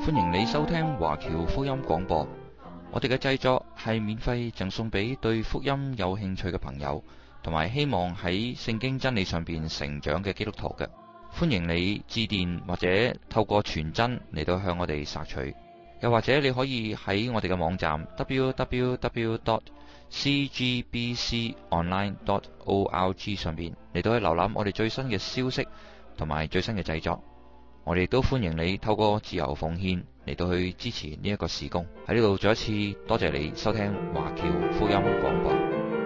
歡迎你收聽華僑福音廣播。我哋嘅製作係免費贈送俾對福音有興趣嘅朋友，同埋希望喺聖經真理上邊成長嘅基督徒嘅。歡迎你致電或者透過傳真嚟到向我哋索取，又或者你可以喺我哋嘅網站 www.cgbconline.org 上邊嚟到去瀏覽我哋最新嘅消息同埋最新嘅製作。我哋都歡迎你透過自由奉獻嚟到去支持呢一個事工。喺呢度再一次多謝你收聽華僑福音廣播。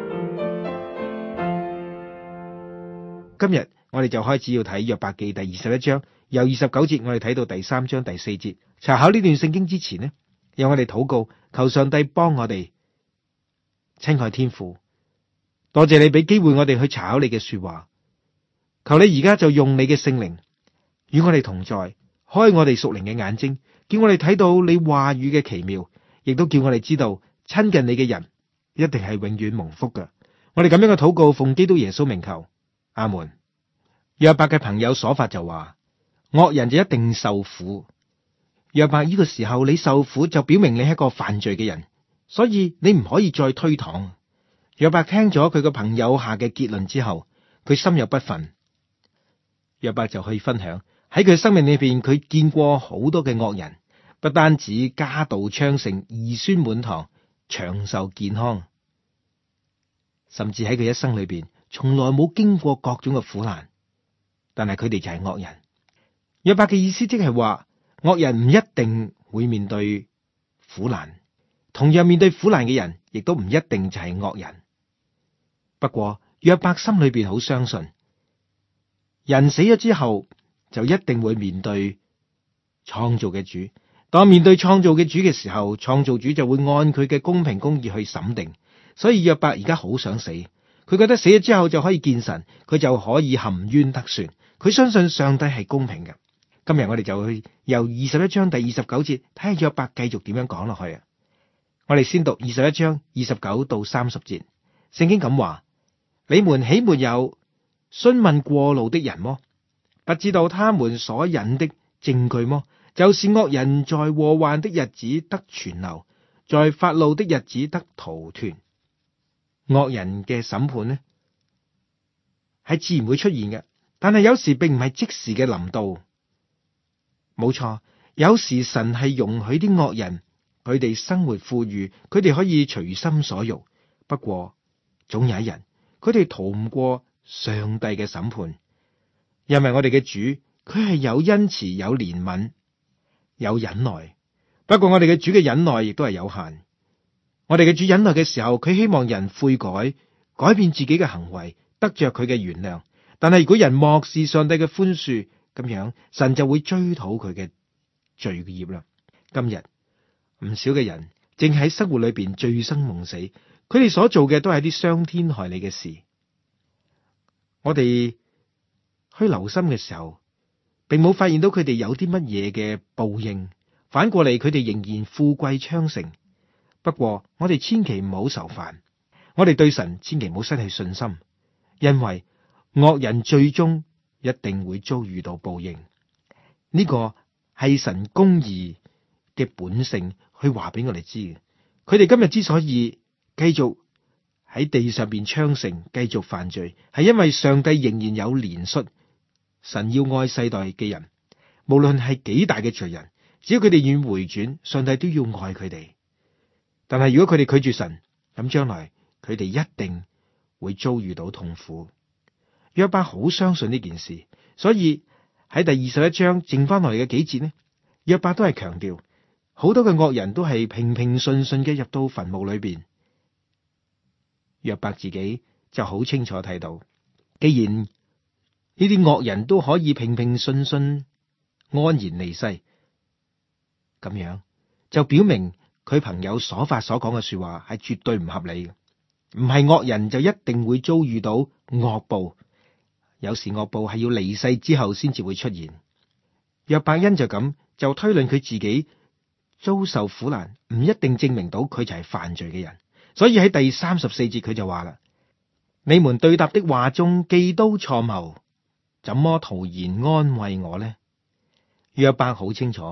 今日我哋就開始要睇約伯記第21章，由29節我哋睇到第3章第4節。查考呢段聖經之前呢，讓我哋禱告，求上帝幫我哋。親愛天父，多謝你俾機會我哋去查考你嘅說話，求你而家就用你嘅聖靈與我哋同在，開我哋屬靈嘅眼睛，叫我哋睇到你話語嘅奇妙，亦都叫我哋知道親近你嘅人一定係永遠蒙福嘅。我哋咁樣嘅禱告，奉基督耶穌名求，阿門。約伯嘅朋友瑣法就話，惡人就一定受苦。約伯，呢個時候你受苦就表明你係一個犯罪嘅人，所以你唔可以再推搪。約伯聽咗佢個朋友下嘅結論之後，佢心有不忿。約伯就去分享喺佢生命裏邊，佢見過好多嘅惡人，不單止家道昌盛、兒孫滿堂、長壽健康，甚至喺佢一生裏邊，從來冇經過各種嘅苦難。但係佢哋就係惡人。約伯嘅意思即係話，惡人唔一定會面對苦難，同樣面對苦難嘅人，亦都唔一定就係惡人。不過約伯心裏邊好相信，人死咗之後就一定會面對創造嘅主。當面對創造嘅主嘅時候，創造主就會按佢嘅公平公義去審定。所以約伯而家好想死，佢覺得死咗之後就可以見神，佢就可以含冤得雪。佢相信上帝係公平嘅。今日我哋就去由21章第29節睇下約伯繼續點樣講落去啊！我哋先讀21章29到30節。聖經咁話：你們豈沒有詢問過路的人麼？不知道他們所引的證據麼？就是惡人在禍患的日子得存留，在發怒的日子得逃脫。惡人嘅審判呢，係自然會出現嘅，但係有時並唔係即時嘅臨到。冇錯，有時神係容許啲惡人，佢哋生活富裕，佢哋可以隨心所欲。不過總有一日，佢哋逃唔過上帝嘅審判，因為我哋嘅主佢係有恩慈、有憐憫、有忍耐。不過我哋嘅主嘅忍耐亦都係有限。我哋嘅主忍耐嘅時候，佢希望人悔改，改變自己嘅行為，得着佢嘅原諒。但係如果人漠視上帝嘅寬恕，咁樣神就會追討佢嘅罪孽啦。今日唔少嘅人正喺生活裏邊醉生夢死，佢哋所做嘅都係啲傷天害理嘅事。我哋去留心嘅時候，並冇發現到佢哋有啲乜嘢嘅報應，反過嚟佢哋仍然富貴昌盛。不過我哋千祈唔好愁煩，我哋對神千祈唔好失去信心，因為惡人最終一定會遭遇到報應。呢個係神公義嘅本性去話俾我哋知嘅。佢哋今日之所以繼續喺地上邊昌盛，繼續犯罪，係因為上帝仍然有憐恤。神要愛世代嘅人，無論係幾大嘅罪人，只要佢哋願回轉，上帝都要愛佢哋。但係如果佢哋拒絕神，咁將來佢哋一定會遭遇到痛苦。約伯好相信呢件事，所以喺第21章剩翻落嚟嘅幾節呢，約伯都係強調好多嘅惡人都係平平順順嘅入到墳墓裏邊。約伯自己就好清楚睇到，既然呢啲惡人都可以平平順順安然離世，咁樣就表明佢朋友瑣法所講嘅說話係絕對唔合理嘅。唔係惡人就一定會遭遇到惡報。有時惡報係要離世之後先至會出現。約伯因就咁就推論佢自己遭受苦難，唔一定證明到佢就係犯罪嘅人。所以喺第34節佢就話啦：你們對答的話中既都錯謬，怎麼徒然安慰我呢？約伯好清楚，喺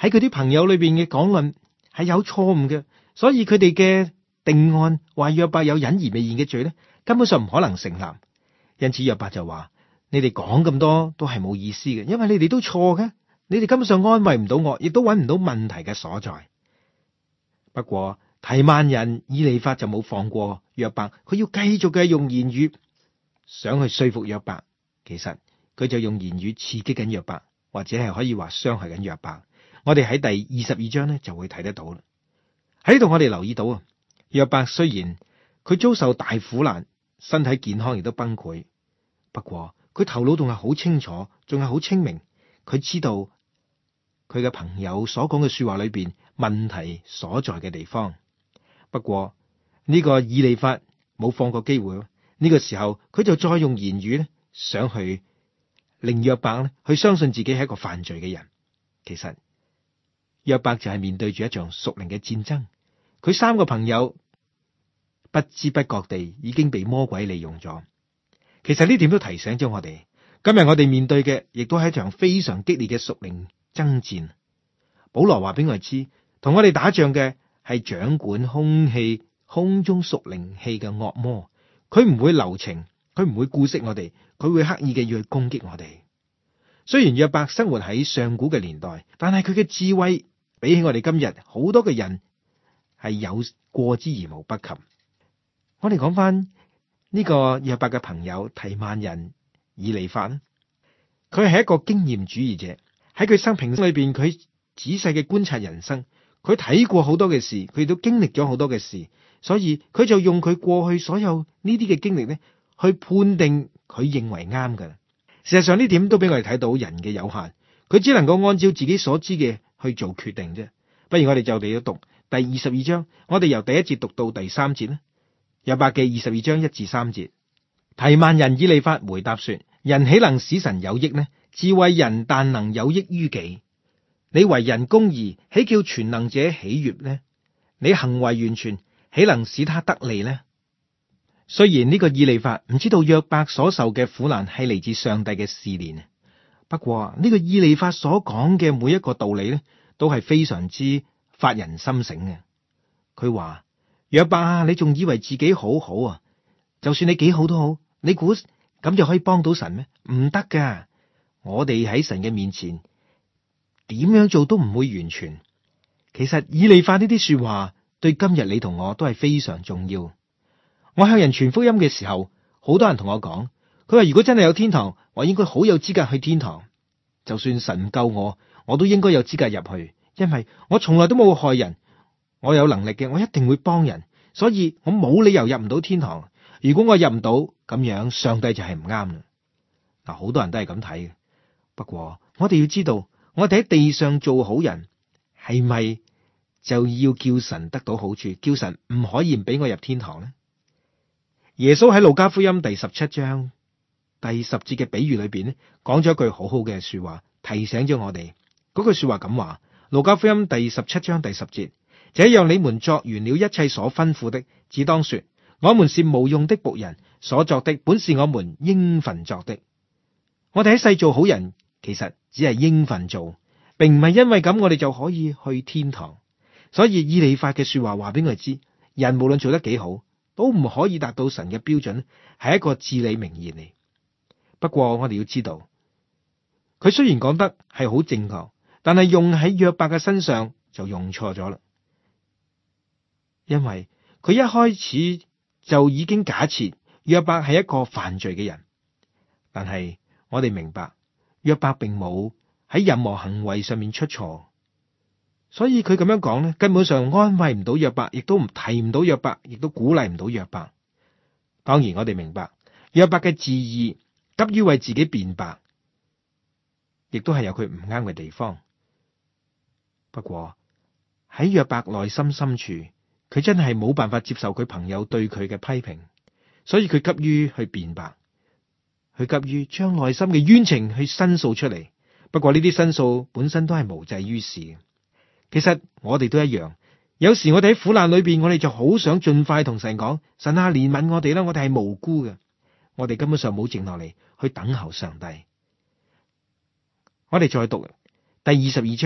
喺佢啲朋友裏邊嘅講論係有錯誤嘅，所以佢哋嘅定案話約伯有隱而未現嘅罪咧，根本上唔可能成立。因此約伯就話：你哋講咁多都係冇意思嘅，因為你哋都錯嘅，你哋根本上安慰唔到我，亦都揾唔到問題嘅所在。不過提曼人以利法就冇放過約伯，佢要繼續嘅用言語想去說服約伯。其實佢就用言語刺激緊約伯，或者係可以話傷害緊約伯。我哋喺第22章咧就會睇得到啦。喺呢度我哋留意到啊，約伯雖然佢遭受大苦難，身體健康亦都崩潰，不過佢頭腦仲係好清楚，仲係好清明。佢知道佢嘅朋友所講嘅說話裏邊問題所在嘅地方。不過呢個以利法冇放過機會，呢個時候佢就再用言語咧，想去令約伯咧去相信自己係一個犯罪嘅人。其實約伯就係面對住一場屬靈嘅戰爭，佢三個朋友不知不覺地已經被魔鬼利用咗。其實呢點都提醒咗我哋，今日我哋面對嘅亦都係一場非常激烈嘅屬靈爭戰。保羅話俾我哋知，同我哋打仗嘅係掌管空中屬靈氣嘅惡魔，佢唔會留情，佢唔會顧惜我哋，佢會刻意嘅要去攻擊我哋。雖然約伯生活喺上古嘅年代，但係佢嘅智慧比起我哋今日好多嘅人係有過之而無不及。我哋講翻呢個約伯嘅朋友提曼人以利法咧，佢係一個經驗主義者，喺佢生平裏邊，佢仔細嘅觀察人生，佢睇過好多嘅事，佢都經歷咗好多嘅事，所以佢就用佢過去所有呢啲嘅經歷咧，去判定佢認為啱㗎。事實上呢點都俾我哋睇到人嘅有限，佢只能夠按照自己所知嘅去做決定啫。不如我哋就嚟到讀第22章，我哋由第1節讀到第3節啦。約伯記22章1至3節，提曼人以利法回答說：人豈能使神有益呢？智慧人但能有益於己。你為人公義，豈叫全能者喜悅呢？你行為完全，豈能使他得利呢？雖然呢個以利法唔知道約伯所受嘅苦難係嚟自上帝嘅試煉，不過呢個以利法所講嘅每一個道理咧，都係非常之發人心省嘅。佢話：約伯啊，你仲以為自己好好啊？就算你幾好都好，你估咁就可以幫到神咩？唔得噶！我哋喺神嘅面前點樣做都唔會完全。其實以利法呢啲說話對今日你同我都係非常重要。我向人傳福音嘅時候，好多人同我講，佢話如果真係有天堂，我應該好有資格去天堂。就算神唔救我，我都應該有資格入去，因為我從來都冇害人，我有能力嘅，我一定會幫人，所以我冇理由入唔到天堂。如果我入唔到，咁樣上帝就係唔啱啦。嗱，好多人都係咁睇嘅。不過我哋要知道，我哋喺地上做好人，係咪就要叫神得到好處，叫神唔可以唔俾我入天堂呢？耶穌喺路加福音第17章第10節嘅比喻裏邊咧，講咗一句好好嘅說話，提醒咗我哋。嗰句說話咁話：路加福音第17章第10節，這樣你們作完了一切所吩咐的，只當說：我們是無用的僕人，所作的本是我們應份作的。我哋喺世做好人，其實只係應份做，並唔係因為咁我哋就可以去天堂。所以以利法嘅說話話俾我哋知，人無論做得幾好，都唔可以達到神嘅標準，係一個至理名言嚟。不過我哋要知道，佢雖然講得係好正確，但係用喺約伯嘅身上就用錯咗啦。因為佢一開始就已經假設約伯係一個犯罪嘅人，但係我哋明白約伯並冇喺任何行為上面出錯。所以佢咁樣講咧，根本上安慰唔到約伯，亦都唔提唔到約伯，亦都鼓勵唔到約伯。當然我哋明白約伯嘅自義，急於為自己辯白，亦都係有佢唔啱嘅地方。不過喺約伯內心深處，佢真係冇辦法接受佢朋友對佢嘅批評，所以佢急於去辯白，佢急於將內心嘅冤情去申訴出嚟。不過呢啲申訴本身都係無濟於事。其實我哋都一樣，有時我哋喺苦難裏邊，我哋就好想盡快同神講：神啊，憐憫我哋啦！我哋係無辜嘅，我哋根本上冇靜落嚟去等候上帝。我哋再讀第22章，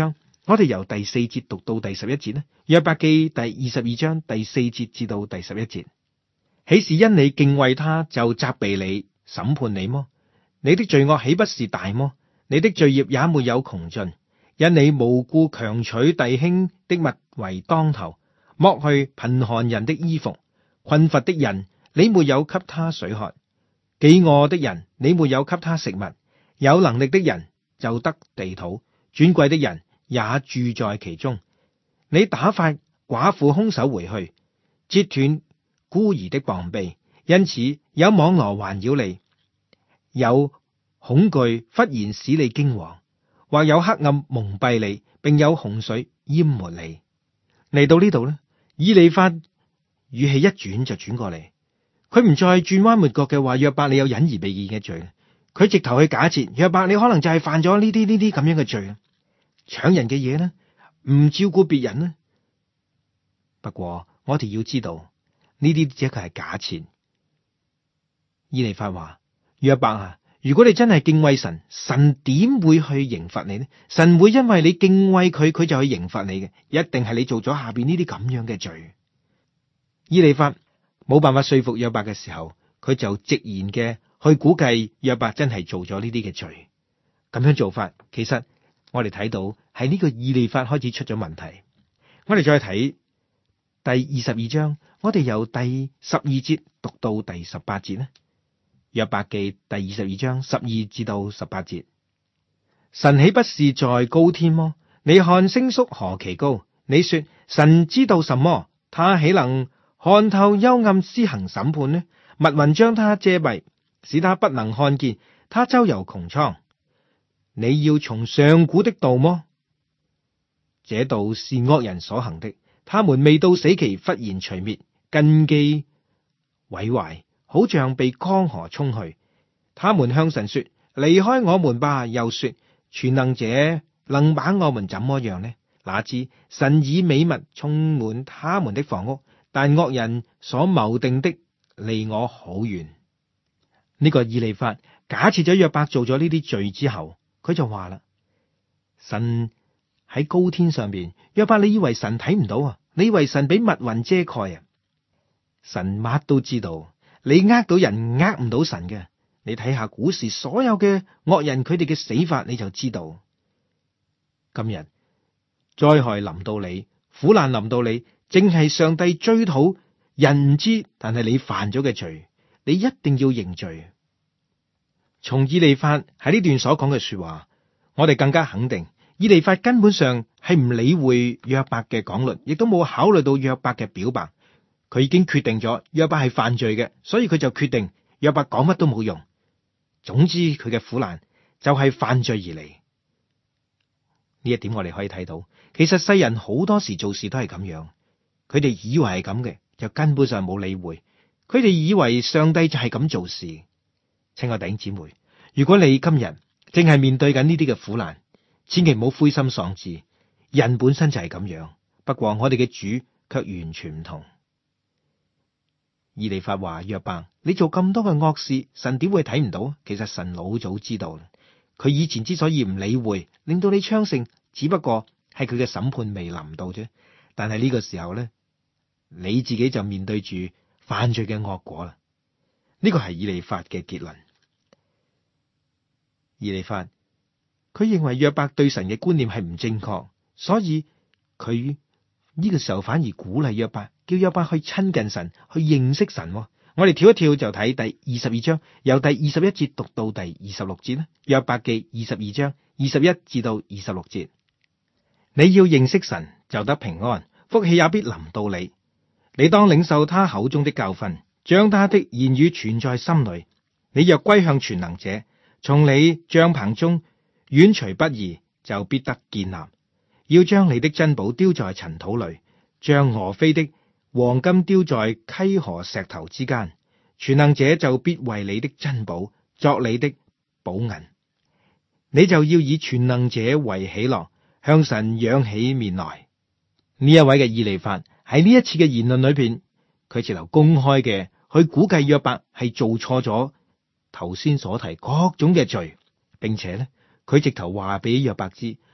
我哋由第4節讀到第11節呢，約伯記第22章第4節至到第11節。豈是因你敬畏他就責備你審判你麼？你的罪惡豈不是大麼？你的罪孽也沒有窮盡，因你無故強取弟兄的物為當頭，剝去貧寒人的衣服，困乏的人你沒有給他水喝，飢餓的人你沒有給他食物，有能力的人就得地土，尊貴的人也住在其中。你打發寡婦空手回去，折斷孤兒的膀臂，因此有網羅環繞你，有恐懼忽然使你驚惶，或有黑暗蒙蔽你，並有洪水淹沒你。嚟到呢度呢，以利法語氣一轉就轉過嚟，佢唔再轉彎抹角嘅話約伯你有隱而未見嘅罪，佢直頭去假設約伯你可能就係犯咗呢啲咁樣嘅罪，搶人嘅嘢呢，唔照顧別人呢。不過我哋要知道呢啲只係假設。以利法話約伯啊，如果你真係敬畏神，神點會去刑罰你呢？神會因為你敬畏佢，佢就去刑罰你嘅，一定係你做咗下邊呢啲咁樣嘅罪。以利法冇辦法說服約伯嘅時候，佢就直言嘅去估計約伯真係做咗呢啲嘅罪。咁樣做法，其實我哋睇到係呢個以利法開始出咗問題。我哋再睇第22章，我哋由第12節讀到第18節呢。約伯記第22章12至到18節，神豈不是在高天麼？你看星宿何其高！你說神知道什麼？他豈能看透幽暗施行審判呢？密雲將他遮蔽，使他不能看見。他周遊穹蒼。你要從上古的道麼？這道是惡人所行的，他們未到死期忽然除滅，根基毀壞，好像被江河沖去。他們向神說：離開我們吧。又說：全能者能把我們怎麼樣呢？哪知神以美物充滿他們的房屋，但惡人所謀定的離我好遠。呢個以利法假設咗約伯做咗呢啲罪之後，佢就話啦：神喺高天上邊，約伯你以為神睇唔到啊？你以為神俾密雲遮蓋啊？神乜都知道。你呃到人，呃唔到神嘅。你睇下古時所有嘅惡人，佢哋嘅死法，你就知道。今日災害臨到你，苦難臨到你，正係上帝追討人唔知，但係你犯咗嘅罪，你一定要認罪。從以利法喺呢段所講嘅說話，我哋更加肯定，以利法根本上係唔理會約伯嘅講論，亦都冇考慮到約伯嘅表白。佢已經決定咗約伯係犯罪嘅，所以佢就決定約伯講乜都冇用。總之佢嘅苦難就係犯罪而嚟。呢一點我哋可以睇到，其實世人好多時做事都係咁樣，佢哋以為係咁嘅，就根本上冇理會。佢哋以為上帝就係咁做事。親愛弟兄姊妹，如果你今日正係面對緊呢啲嘅苦難，千祈唔好灰心喪志。人本身就係咁樣，不過我哋嘅主卻完全唔同。以利法話約伯，你做咁多嘅惡事，神點會睇唔到？其實神老早知道，佢以前之所以唔理會，令到你昌盛，只不過係佢嘅審判未臨到啫。但係呢個時候咧，你自己就面對住犯罪嘅惡果啦。呢個係以利法嘅結論。以利法佢認為約伯對神嘅觀念係唔正確，所以佢呢個時候反而鼓勵約伯，叫約伯去親近神，去認識神。我哋跳一跳就睇第22章，由第21節讀到第26節啦。約伯記22章21至到26節，你要認識神，就得平安，福氣也必臨到你。你當領受他口中的教訓，將他的言語存在心裡。你若歸向全能者，從你帳篷中遠除不義，就必得建立。要將你的珍寶丟在塵土裡，將俄斐的黃金丟在溪河石頭之間。全能者就必為你的珍寶作你的寶銀。你就要以全能者為喜樂，向神仰起面來。呢一位嘅以利法喺呢一次嘅言論裏邊，佢直頭公開嘅去估計約伯係做錯咗頭先所提各種嘅罪，並且咧佢直頭話俾約伯知，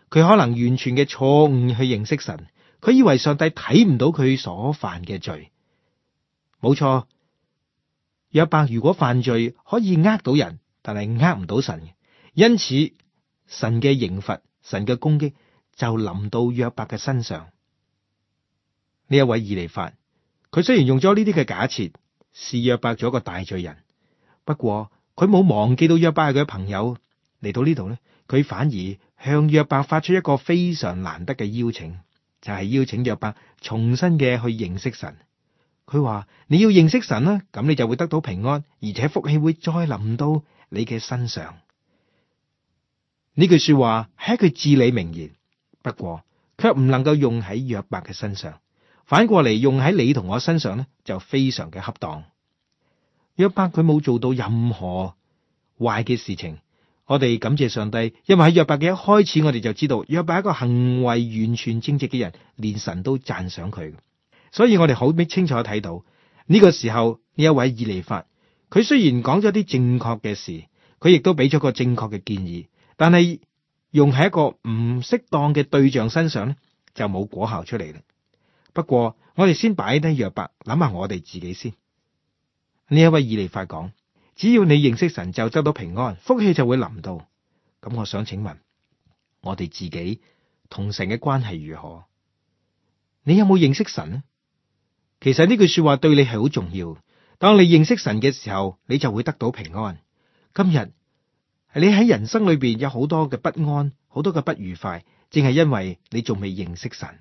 佢可能完全嘅錯誤去認識神，佢以為上帝睇唔到佢所犯嘅罪。冇錯，約伯如果犯罪可以呃到人，但係呃唔到神，因此神嘅刑罰、神嘅攻擊就臨到約伯嘅身上。呢一位以利法，佢雖然用咗呢啲嘅假設，視約伯做一個大罪人，不過佢冇忘記到約伯係佢嘅朋友。嚟到呢度呢，佢反而向約伯發出一個非常難得嘅邀請，就係邀請約伯重新嘅去認識神。佢話你要認識神啦，咁你就會得到平安，而且福氣會再臨到你嘅身上。呢句說話係一句至理名言，不過卻唔能夠用喺約伯嘅身上，反過嚟用喺你同我身上呢，就非常嘅恰當。約伯佢冇做到任何壞嘅事情，我哋感謝上帝，因為喺約伯嘅一開始，我哋就知道約伯係一個行為完全正直嘅人，連神都讚賞佢。所以我哋好清楚睇到呢個時候，呢一位以利法，佢雖然講咗啲正確嘅事，佢亦都俾咗個正確嘅建議，但係用喺一個唔適當嘅對象身上呢，就冇果效出嚟啦。不過我哋先擺低約伯，諗下我哋自己先。呢一位以利法講，只要你認識神，就得到平安，福氣就會臨到。咁我想請問，我哋自己同神嘅關係如何？你有冇認識神呢？其實呢句說話對你係好重要。當你認識神嘅時候，你就會得到平安。今日你喺人生裏邊有好多嘅不安，好多嘅不愉快，正係因為你仲未認識神。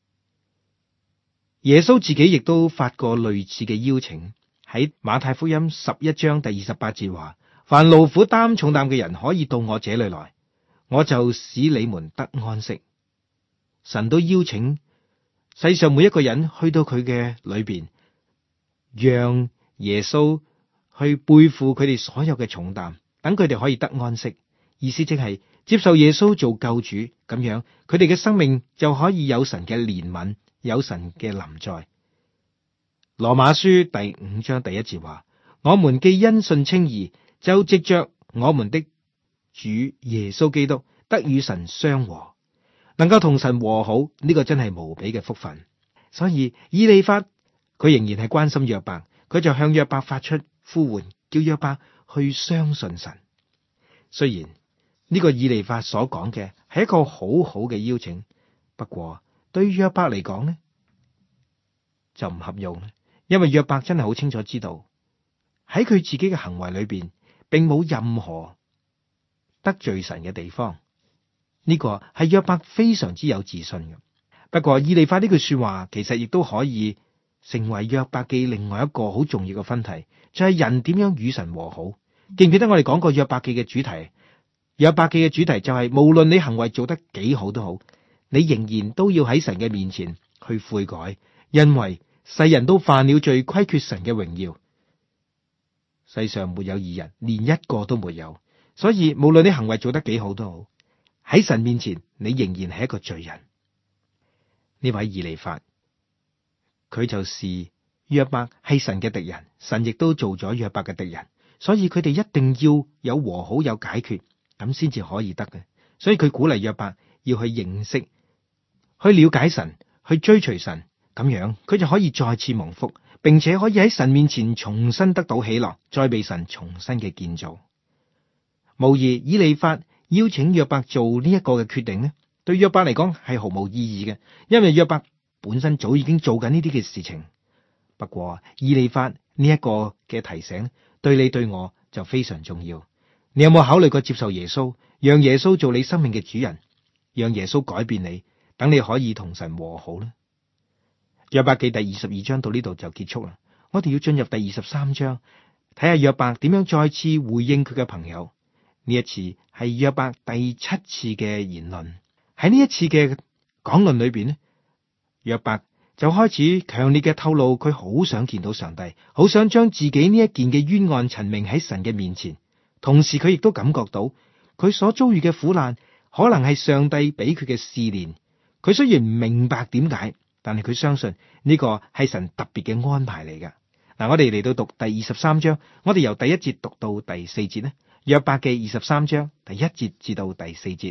耶穌自己亦都發過類似嘅邀請，喺馬太福音11章第28節話：凡勞苦擔重擔嘅人可以到我這裏來，我就使你們得安息。神都邀請世上每一個人去到佢嘅裏邊，讓耶穌去背負佢哋所有嘅重擔，等佢哋可以得安息。意思即係接受耶穌做救主，咁樣佢哋嘅生命就可以有神嘅憐憫，有神嘅臨在。羅馬書第5章第1節話：我們既因信稱義，就藉着我們的主耶穌基督得與神相和，能夠同神和好，呢個真係無比嘅福分。所以以利法佢仍然係關心約伯，佢就向約伯發出呼喚，叫約伯去相信神。雖然呢個以利法所講嘅係一個好好嘅邀請，不過對約伯嚟講呢，就唔合用。因為約伯真係好清楚知道喺佢自己嘅行為裏邊，並冇任何得罪神嘅地方。呢個係約伯非常之有自信嘅。不過以利法呢句說話，其實亦都可以成為約伯記另外一個好重要嘅分題，就係人點樣與神和好。記唔記得我哋講過約伯記嘅主題？約伯記嘅主題就係無論你行為做得幾好都好，你仍然都要喺神嘅面前去悔改，因為世人都犯了罪，虧缺神嘅榮耀。世上沒有義人，連一個都沒有。所以無論你行為做得幾好都好，喺神面前你仍然係一個罪人。呢位以利法，佢就視約伯係神嘅敵人，神亦都做咗約伯嘅敵人，所以佢哋一定要有和好，有解決，咁先至可以得嘅。所以佢鼓勵約伯要去認識、去了解神、去追隨神。咁樣佢就可以再次蒙福，並且可以喺神面前重新得到喜樂，再被神重新嘅建造。無疑以利法邀請約伯做呢一個嘅決定呢，對約伯嚟講係毫無意義嘅，因為約伯本身早已經做緊呢啲嘅事情。不過以利法呢一個嘅提醒對你對我就非常重要。你有冇考慮過接受耶穌，讓耶穌做你生命嘅主人，讓耶穌改變你，等你可以同神和好呢？約伯記第22章到呢度就結束啦。我哋要進入第23章，睇下約伯點樣再次回應佢嘅朋友。呢一次係約伯第7次嘅言論。喺呢一次嘅講論裏邊呢，約伯就開始強烈嘅透露佢好想見到上帝，好想將自己呢一件嘅冤案陳明喺神嘅面前。同時佢亦都感覺到佢所遭遇嘅苦難可能係上帝俾佢嘅試煉。佢雖然唔明白點解，但係佢相信呢個係神特別嘅安排嚟㗎。嗱，我哋嚟到讀第23章，我哋由第1節讀到第4節呢。約伯記23章第1節至到第4節，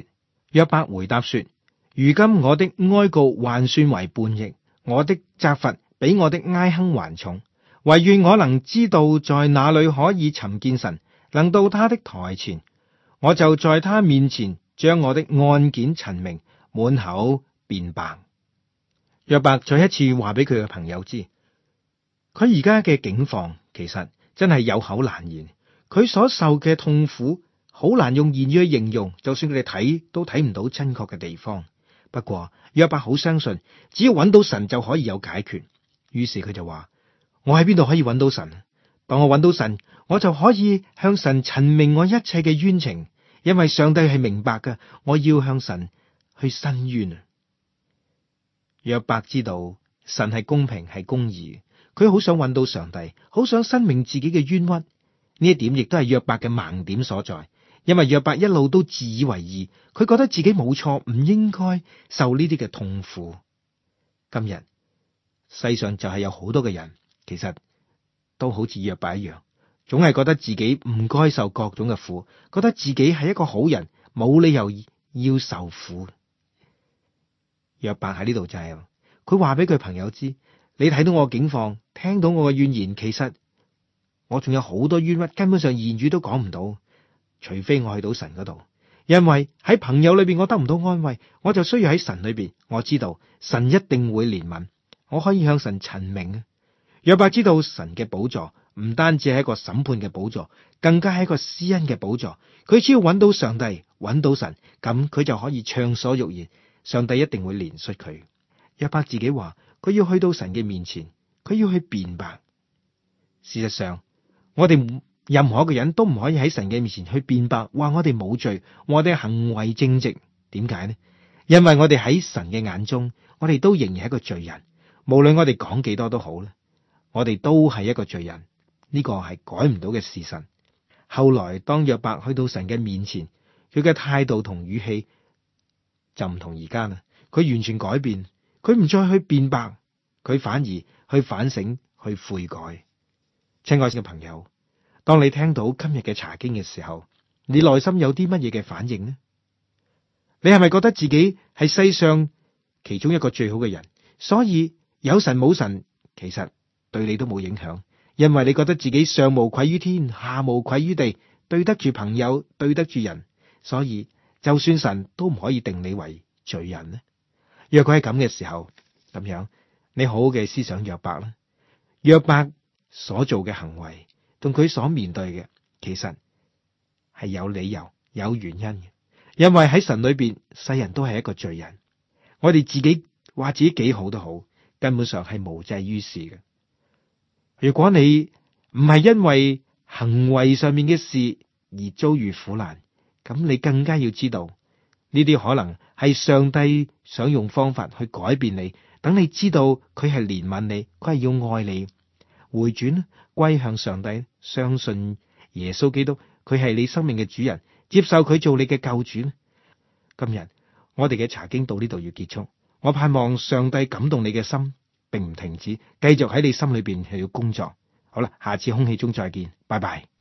約伯回答說：如今我的哀告還算為叛逆，我的責罰比我的哀哼還重。惟願我能知道在哪裏可以尋見神，能到他的台前，我就在他面前將我的案件陳明，滿口辯白。約伯再一次話俾佢嘅朋友知，佢而家嘅境況其實真係有口難言，佢所受嘅痛苦好難用言語去形容，就算佢哋睇都睇唔到真確嘅地方。不過約伯好相信，只要揾到神就可以有解決。於是佢就話：我喺邊度可以揾到神？當我揾到神，我就可以向神陳明我一切嘅冤情，因為上帝係明白嘅，我要向神去申冤。約伯知道神係公平係公義，佢好想揾到上帝，好想申明自己嘅冤屈。呢一點亦都係約伯嘅盲點所在，因為約伯一路都自以為義，佢覺得自己冇錯，唔應該受呢啲嘅痛苦。今日世上就係有好多嘅人，其實都好似約伯一樣，總係覺得自己唔該受各種嘅苦，覺得自己係一個好人，冇理由要受苦。約伯喺呢度就係，佢話俾佢朋友知：你睇到我境況，聽到我嘅怨言，其實我仲有好多冤屈，根本上言語都講唔到，除非我去到神嗰度。因為喺朋友裏邊我得唔到安慰，我就需要喺神裏邊，我知道神一定會憐憫，我可以向神陳明。約伯知道神嘅寶座唔單止係一個審判嘅寶座，更加係一個施恩嘅寶座。佢只要揾到上帝，揾到神，咁佢就可以暢所欲言，上帝一定會憐恤佢。約伯自己話佢要去到神嘅面前，佢要去辯白。事實上，我哋任何一個人都唔可以喺神嘅面前去辯白，話我哋冇罪，我哋行為正直。點解呢？因為我哋喺神嘅眼中，我哋都仍然係一個罪人。無論我哋講幾多都好啦，我哋都係一個罪人。呢個係改唔到嘅事實。後來當約伯去到神嘅面前，佢嘅態度同語氣就唔同而家啦。佢完全改變，佢唔再去辯白，佢反而去反省，去悔改。親愛嘅朋友，當你聽到今日嘅查經嘅時候，你內心有啲乜嘢嘅反應呢？你係咪覺得自己係世上其中一個最好嘅人，所以有神冇神其實對你都冇影響，因為你覺得自己上無愧於天，下無愧於地，對得住朋友，對得住人，所以就算神都唔可以定你為罪人呢？若果係咁嘅時候，咁樣你好好嘅思想約伯啦。約伯所做嘅行為同佢所面對嘅，其實係有理由、有原因嘅。因為喺神裏邊，世人都係一個罪人。我哋自己話自己幾好都好，根本上係無濟於事嘅。如果你唔係因為行為上面嘅事而遭遇苦難，咁你更加要知道呢啲可能係上帝想用方法去改變你，等你知道佢係憐憫你，佢係要愛你，回轉歸向上帝，相信耶穌基督，佢係你生命嘅主人，接受佢做你嘅救主。今日我哋嘅查經到呢度要結束，我盼望上帝感動你嘅心，並唔停止，繼續喺你心裏邊係要工作。好啦，下次空氣中再見，拜拜。